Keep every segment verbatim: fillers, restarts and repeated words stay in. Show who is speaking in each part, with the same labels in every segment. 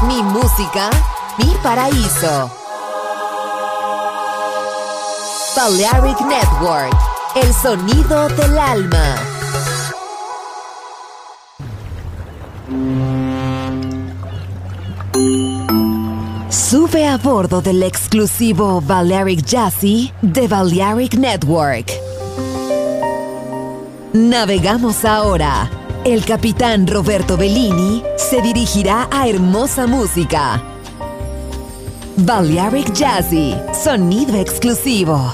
Speaker 1: Mi música, mi paraíso. Balearic Network, el sonido del alma. Sube a bordo del exclusivo Balearic Jazzy de Balearic Network. Navegamos ahora. El capitán Roberto Bellini se dirigirá a hermosa música. Balearic Jazzy, sonido exclusivo.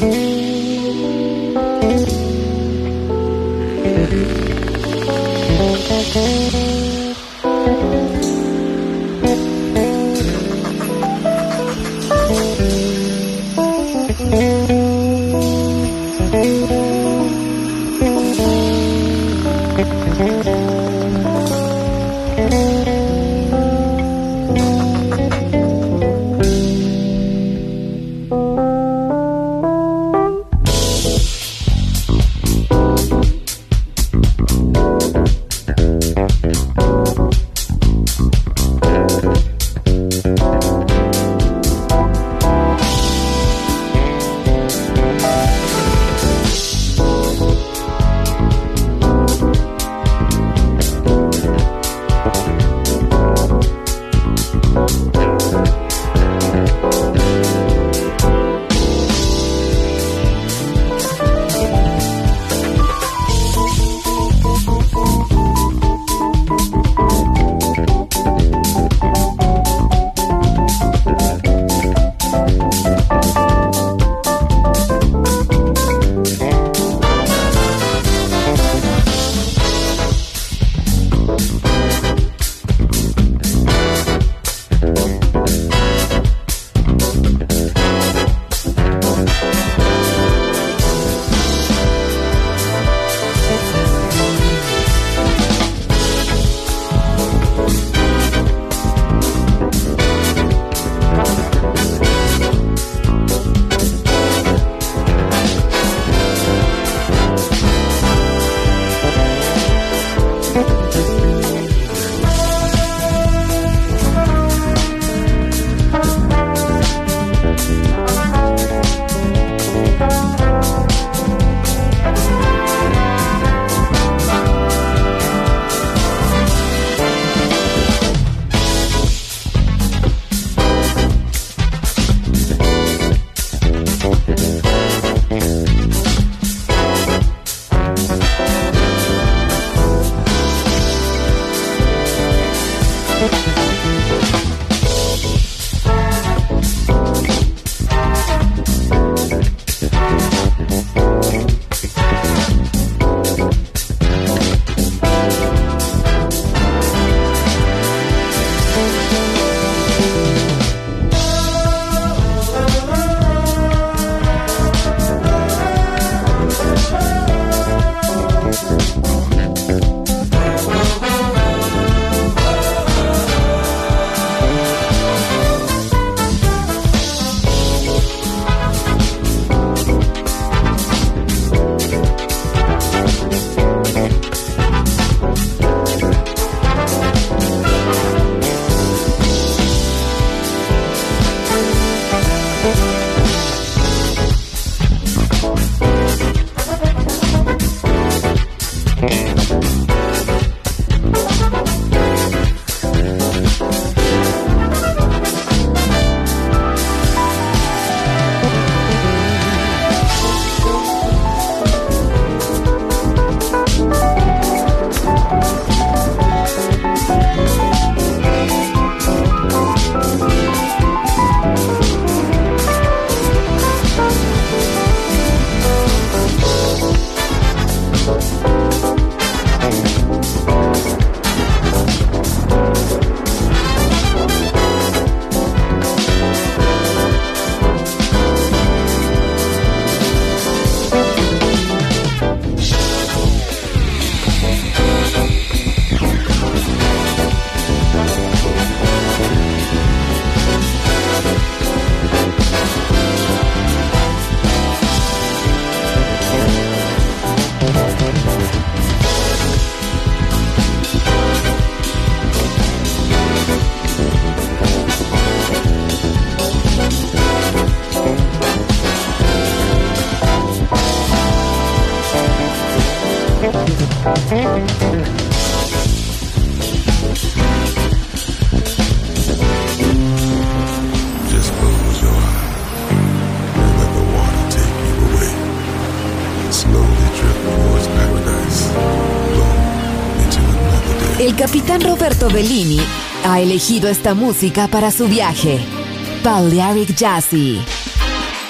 Speaker 1: El capitán Roberto Bellini ha elegido esta música para su viaje. Balearic Jazzy.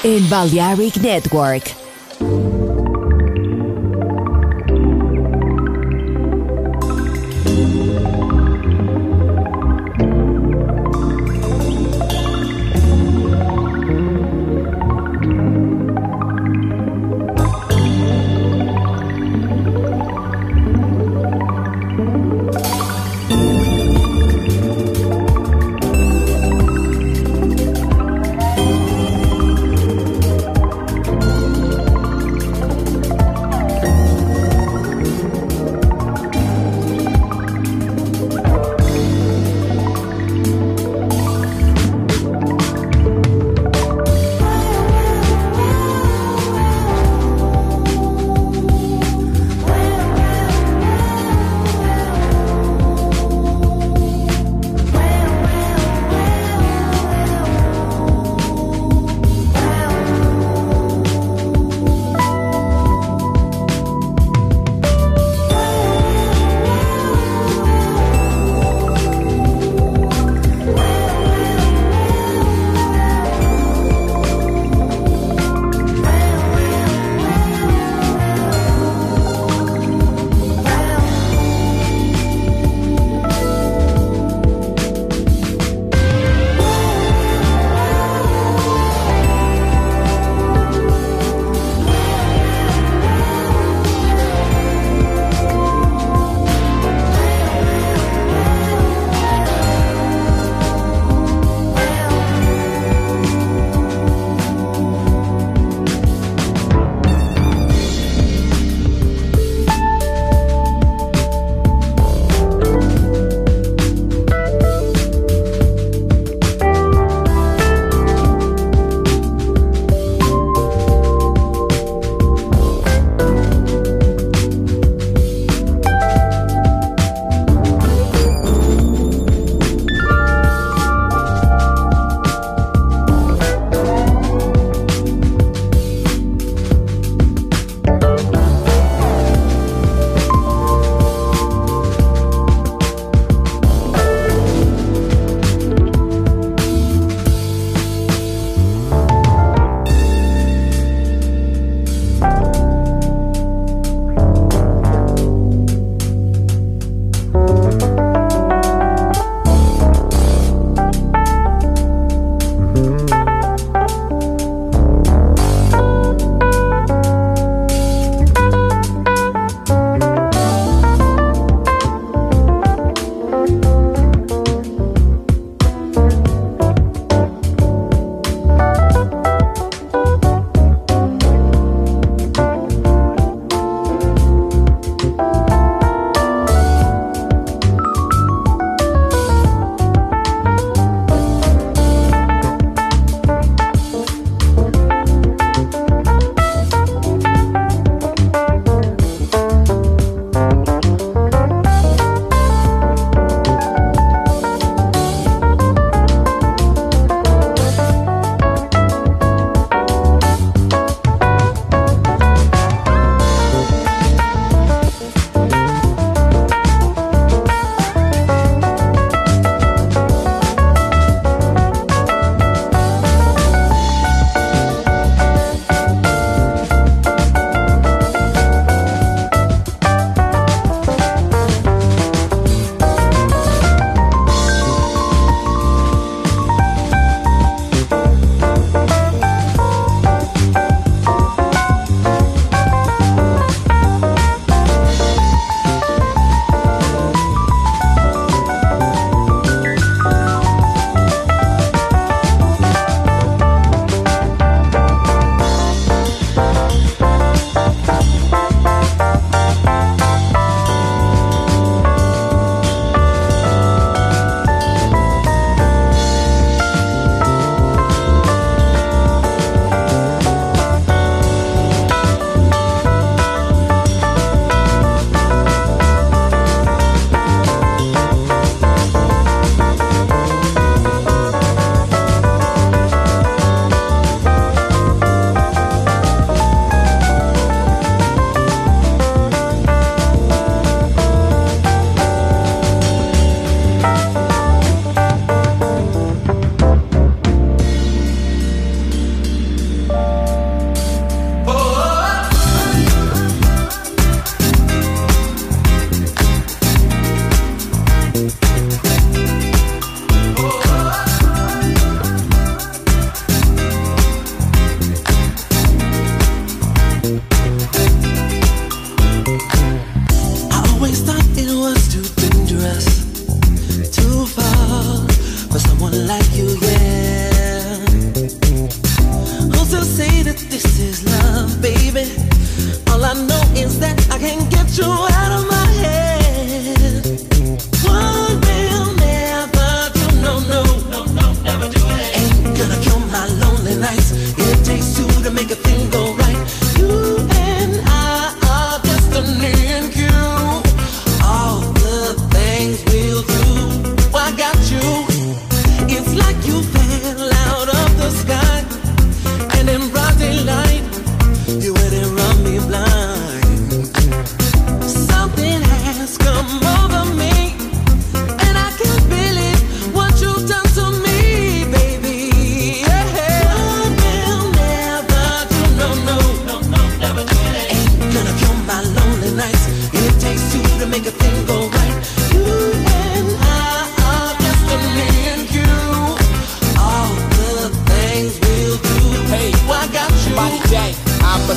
Speaker 1: en Balearic Network.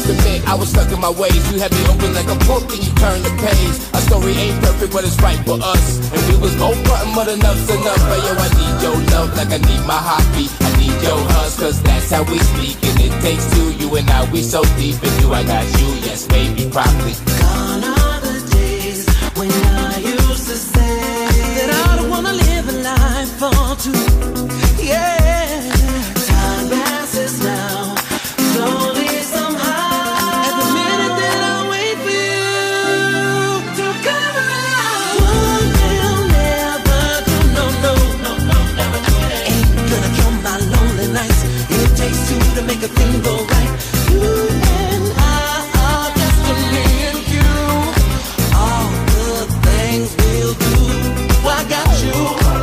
Speaker 2: must admit, I was stuck in my ways. You had me open like a book and you turned the page. Our story ain't perfect, but it's right for us. And we was both button, but enough's enough. But yo, I need your love like I need my heartbeat. I need your hugs, cause that's how we speak. And it takes two, you and I, we so deep. And you, I got you, yes, baby, properly.
Speaker 3: Gone are the days when I used to say that I don't wanna live a life for two. Yeah, time passes now, slowly somehow. Every minute that I wait for you to come around, one will never do, no, no, no, no, never do it. Ain't gonna kill my lonely nights. It takes two to make a thing go right. You and I are destiny and you. All the things we'll do, I got you.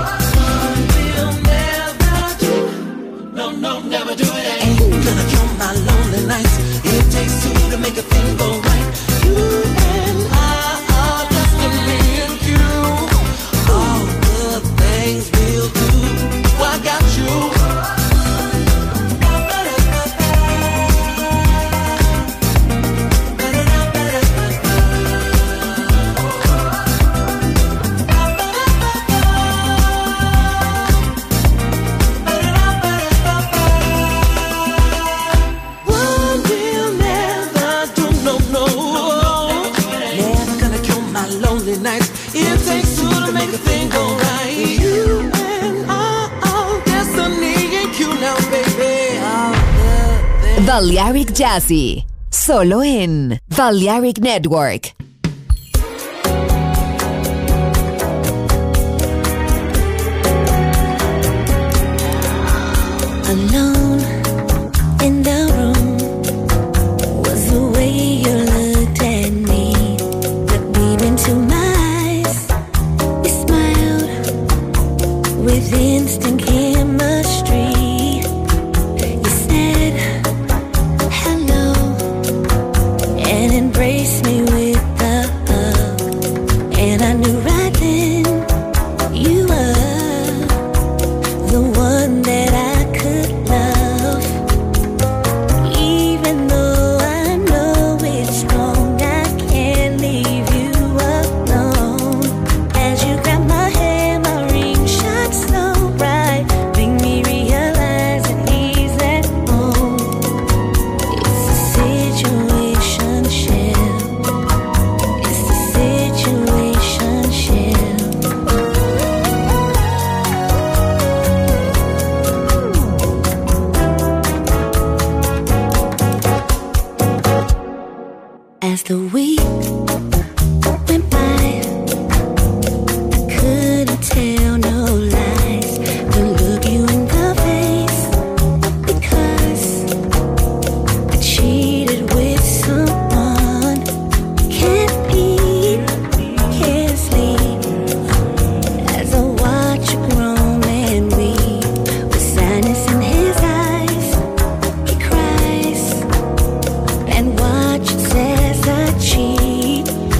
Speaker 3: No, no, never do it. Ain't gonna kill my lonely nights. It takes two to make a thing go right. You and I are destiny and you. All the things we'll do, I got you. It takes two to make a thing go right. You and I are destiny and you now, baby.
Speaker 1: Balearic Jazzy, solo en Balearic Network.
Speaker 4: Alone in the room was the way you looked at me. Looked deep into my with instant chemistry. You said hello and embraced me with a hug, and I knew right then you were the one that I could love. Even though I know it's wrong, I can't leave you alone. As you grab my hand, my ring shines so bright, make me realize that he's at home. It's a situation ship. It's a situation ship. As the week went by, I couldn't tell no lies, couldn't look you in the face, because I cheated with someone. Can't eat, can't sleep, as I watch you grow and weep. With sadness in his eyes, he cries, and watches as I cheat.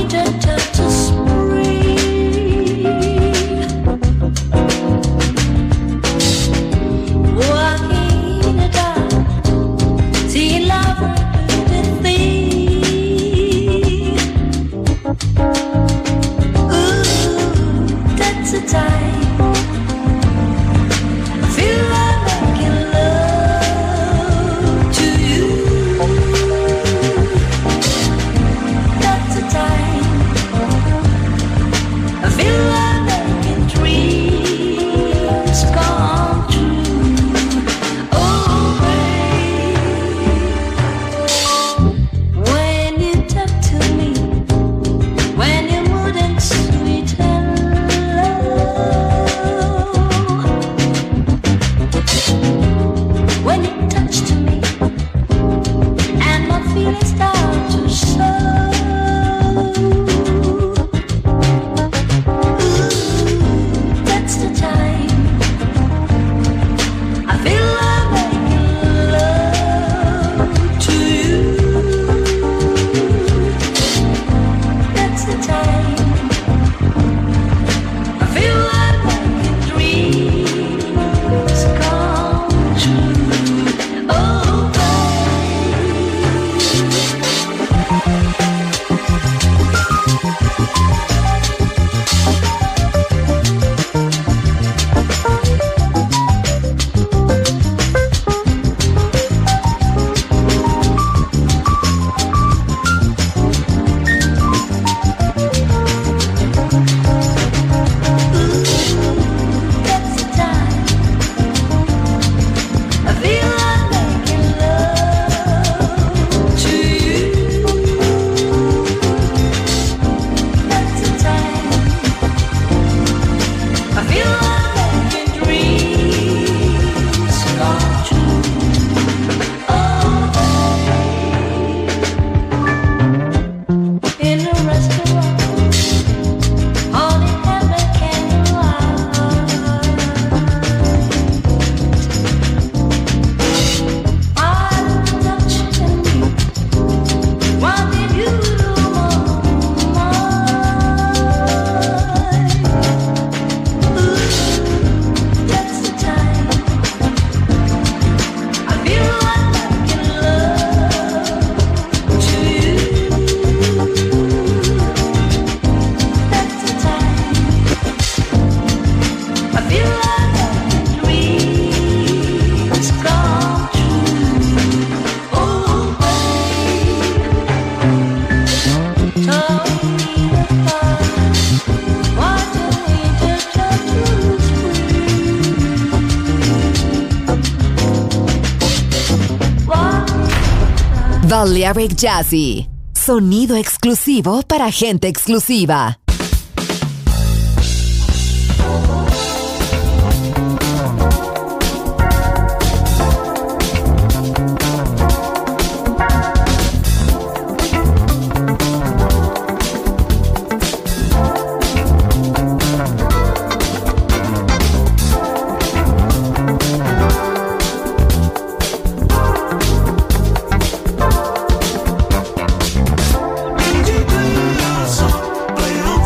Speaker 1: Balearic Jazzy, sonido exclusivo para gente exclusiva.
Speaker 3: Play on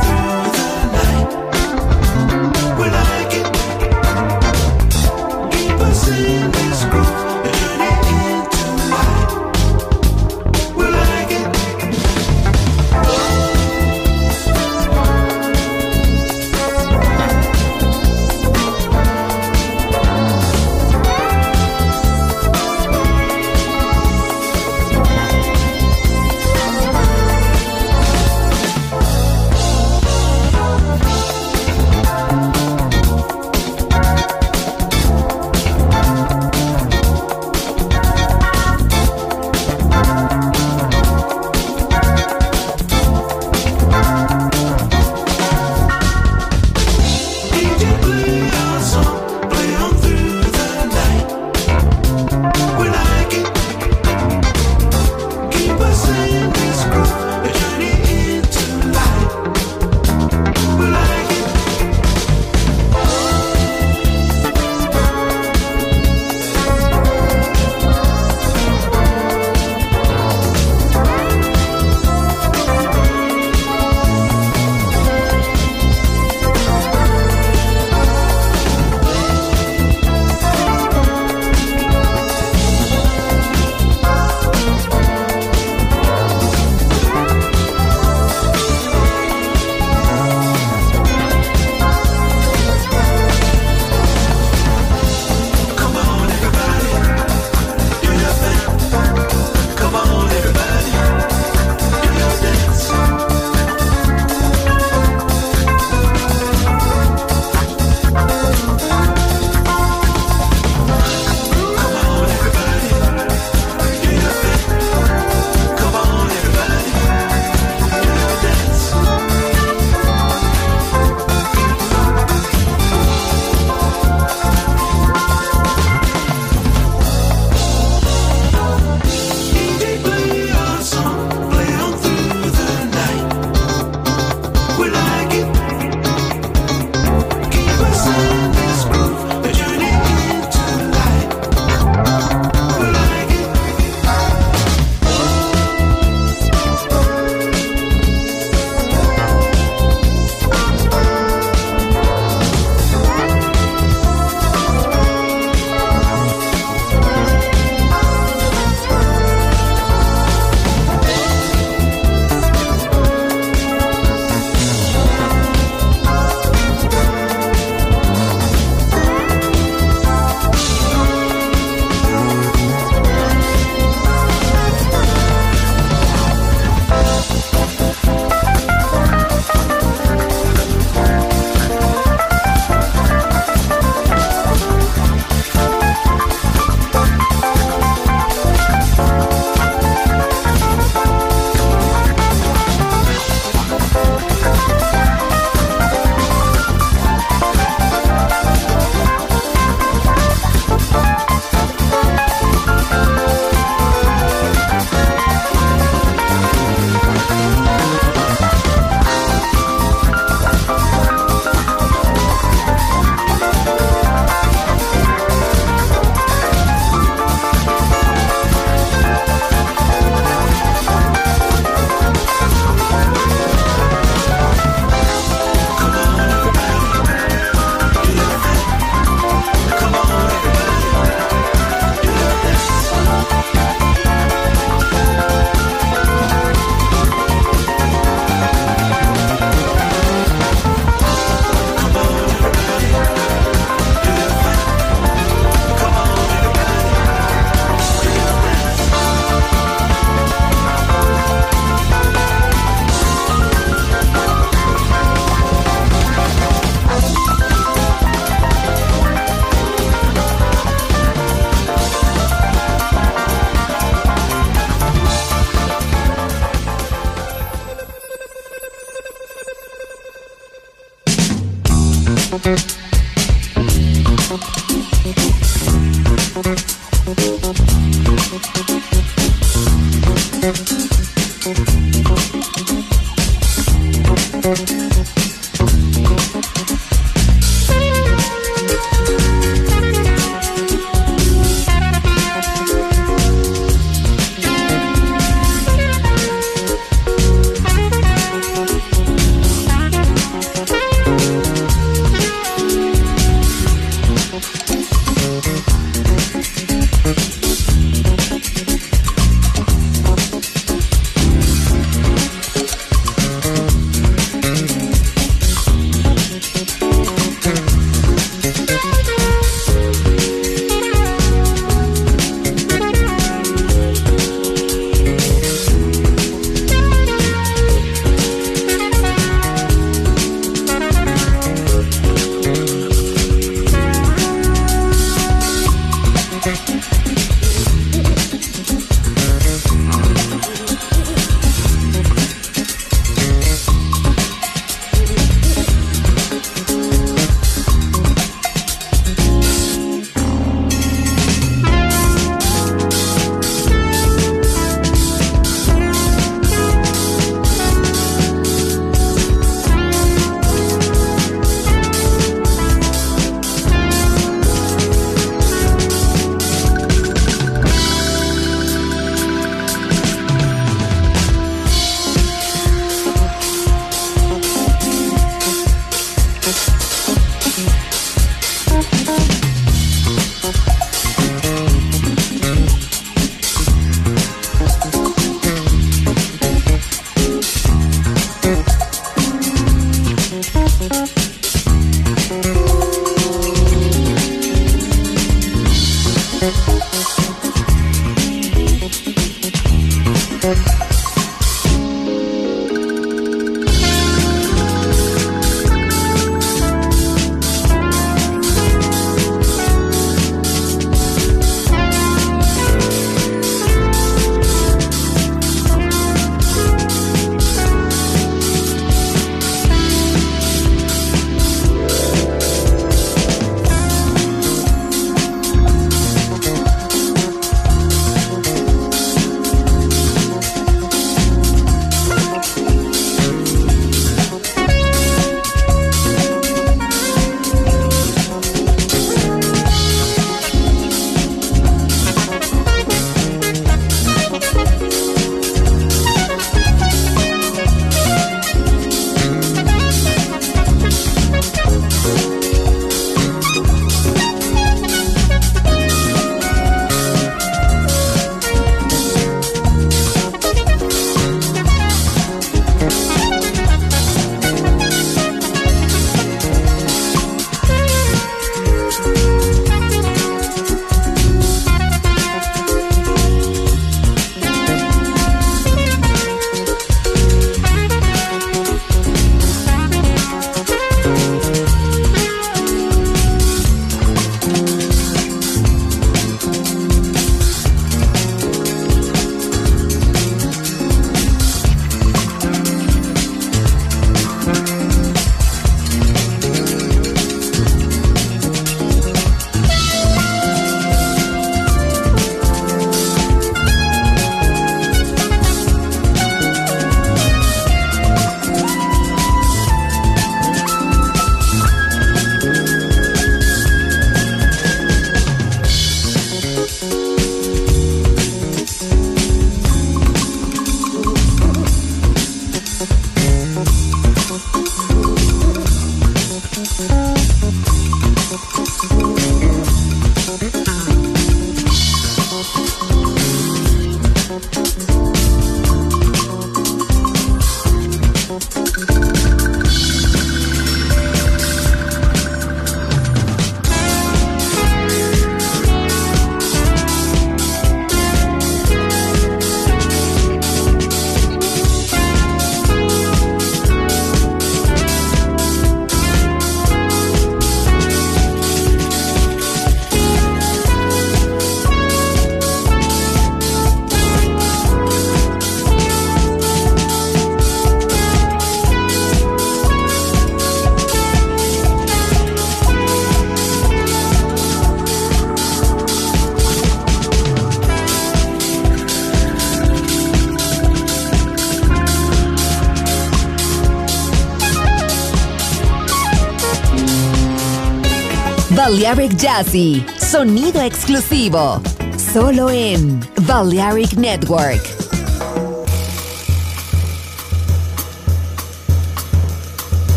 Speaker 1: Balearic Jazzy, sonido exclusivo, solo en Balearic Network.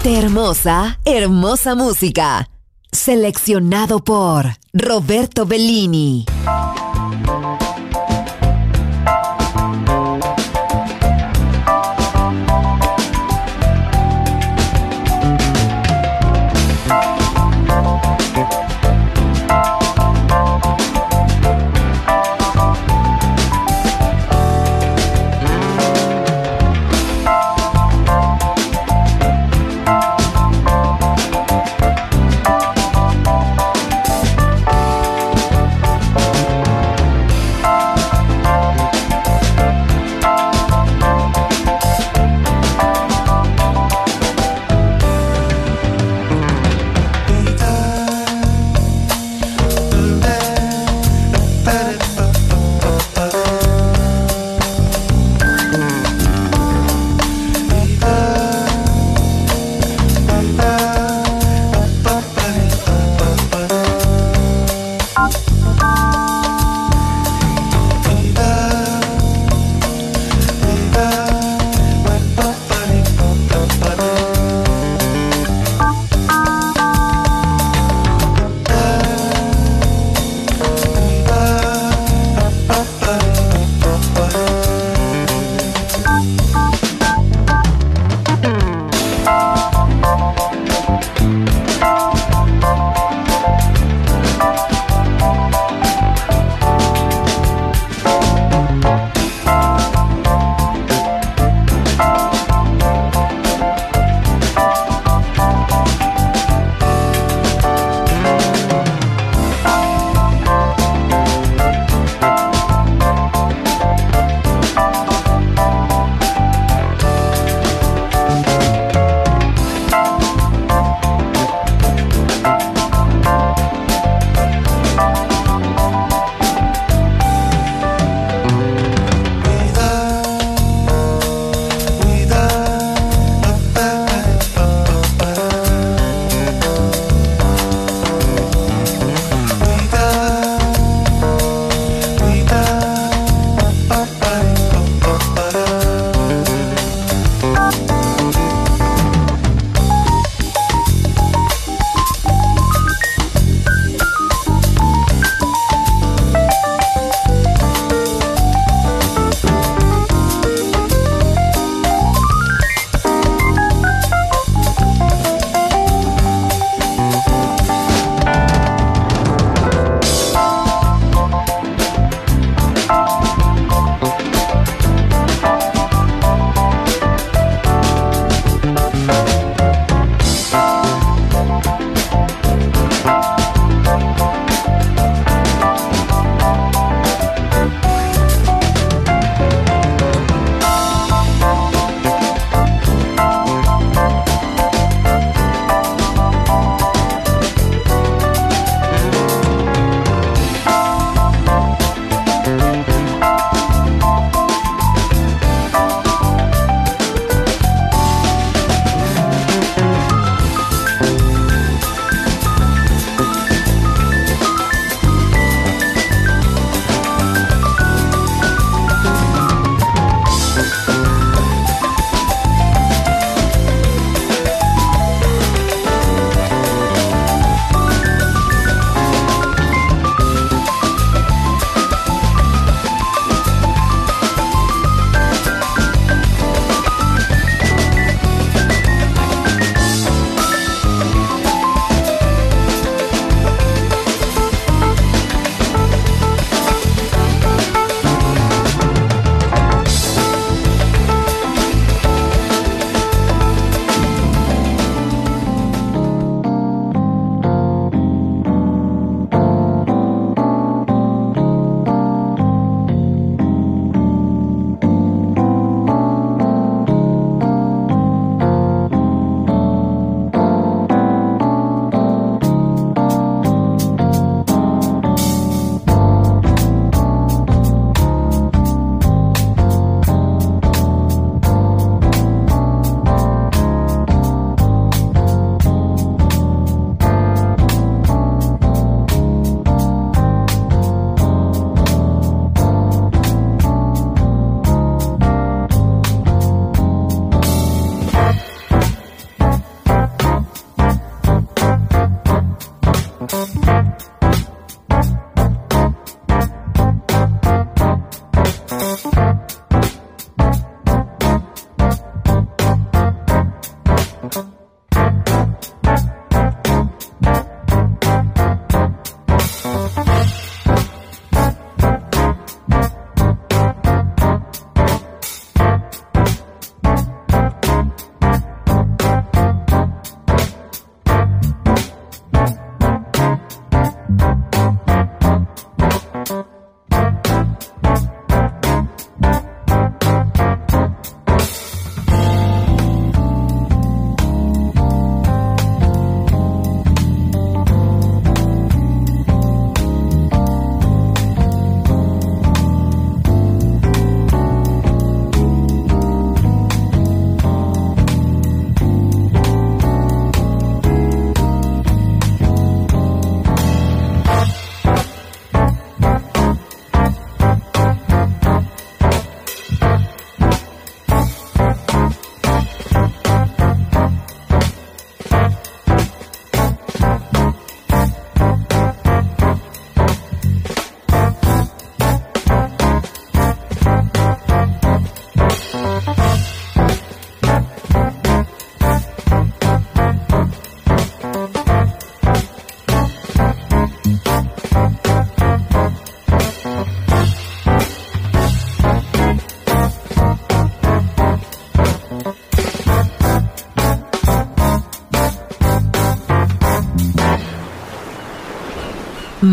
Speaker 1: Gente hermosa, hermosa música. Seleccionado por Roberto Bellini.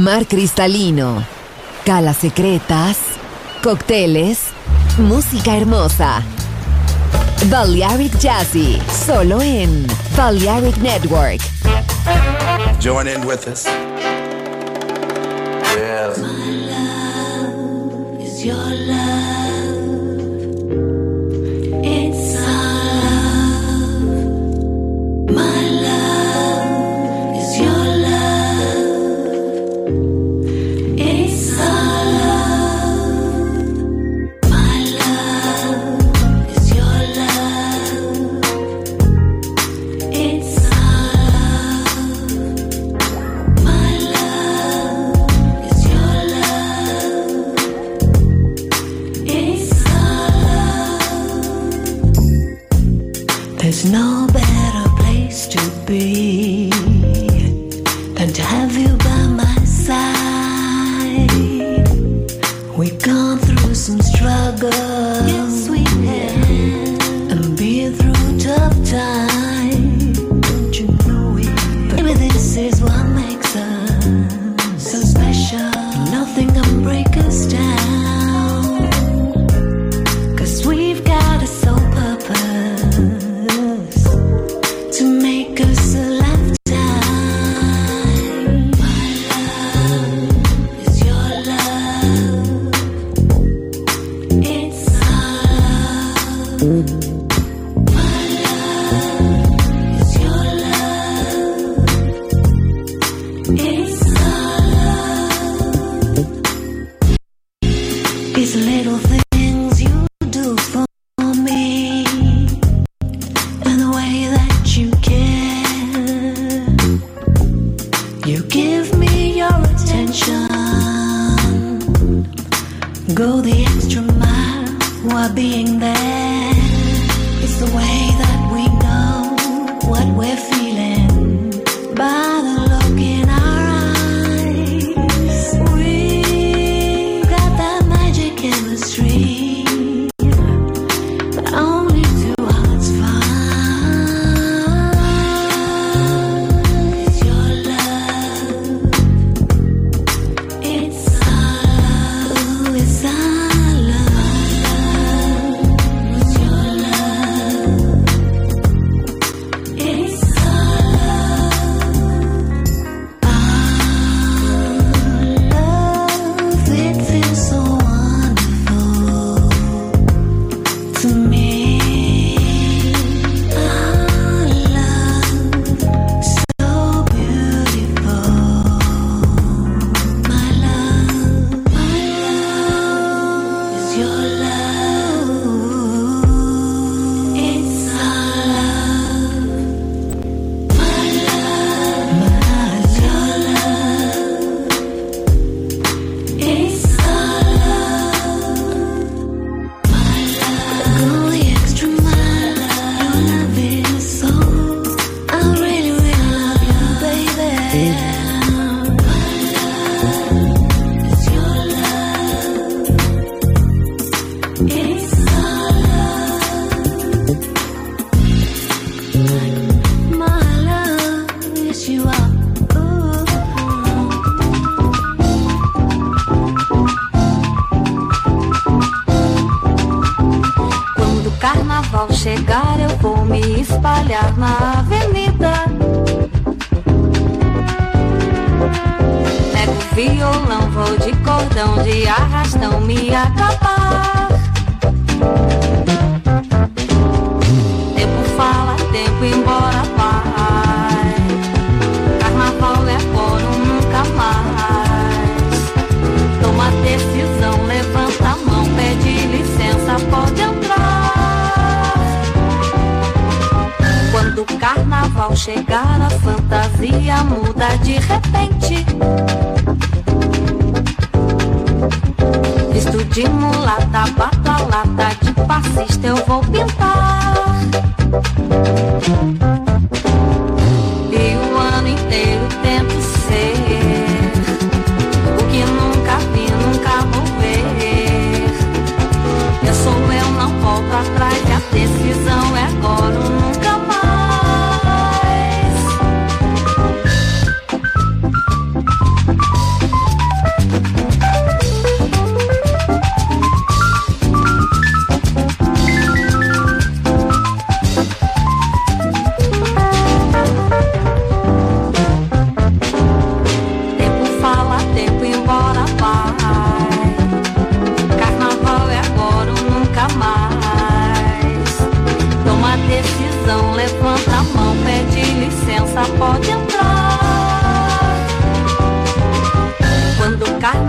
Speaker 1: mar cristalino, calas secretas, cócteles, música hermosa. Balearic Jazzy, solo en Balearic Network.
Speaker 5: Join in with us. Yeah.
Speaker 3: My love is your love. It's our love. My love is your love. It's our love. My love is your love. It's our love. My love is your love. It's our love. There's no better place to be than to have you by my side. We've gone through some struggles, yes we have, and been through tough times. Don't you know it? Baby, this is what makes us so special. Nothing can break us down, 'cause we've got a sole purpose to make us a lifetime. My love is your love. It's our love. My love is your love. It's our love. These little things you do for me, and the way that you care. You give me your attention. Go the extra mile while being there. It's the way that we know what we're feeling by the look in our eyes. We've got that magic chemistry that only two hearts find. It's your love. It's our love. It's our love. It's your love. It's our love. Our love, it feels so wonderful to me. Our love, so beautiful. My love, my love is your love. It's our love. My love, my your love. It's our love. My love, go the extra mile. Your love is so. I really, really love you, baby. My love is your love. It's our love. My love, yes you are. Ooh.
Speaker 6: Quando o carnaval chegar, eu vou me espalhar na avenida. Pego o violão, vou de cordão, de arrastão me acabar. Tempo fala, tempo embora vai. Carnaval é agora ou nunca mais. Toma decisão, levanta a mão, pede licença, pode entrar. Quando o carnaval chegar, a fantasia muda de repente. Visto de mulata, bato a lata, de passista eu vou pintar. E o ano inteiro tento ser o que nunca vi, nunca vou ver. Eu sou eu, não volto atrás, e a decisão é agora ou nunca mais.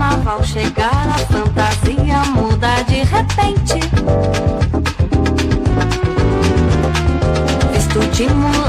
Speaker 6: carnaval chegar, a fantasia muda de repente. Visto de mulher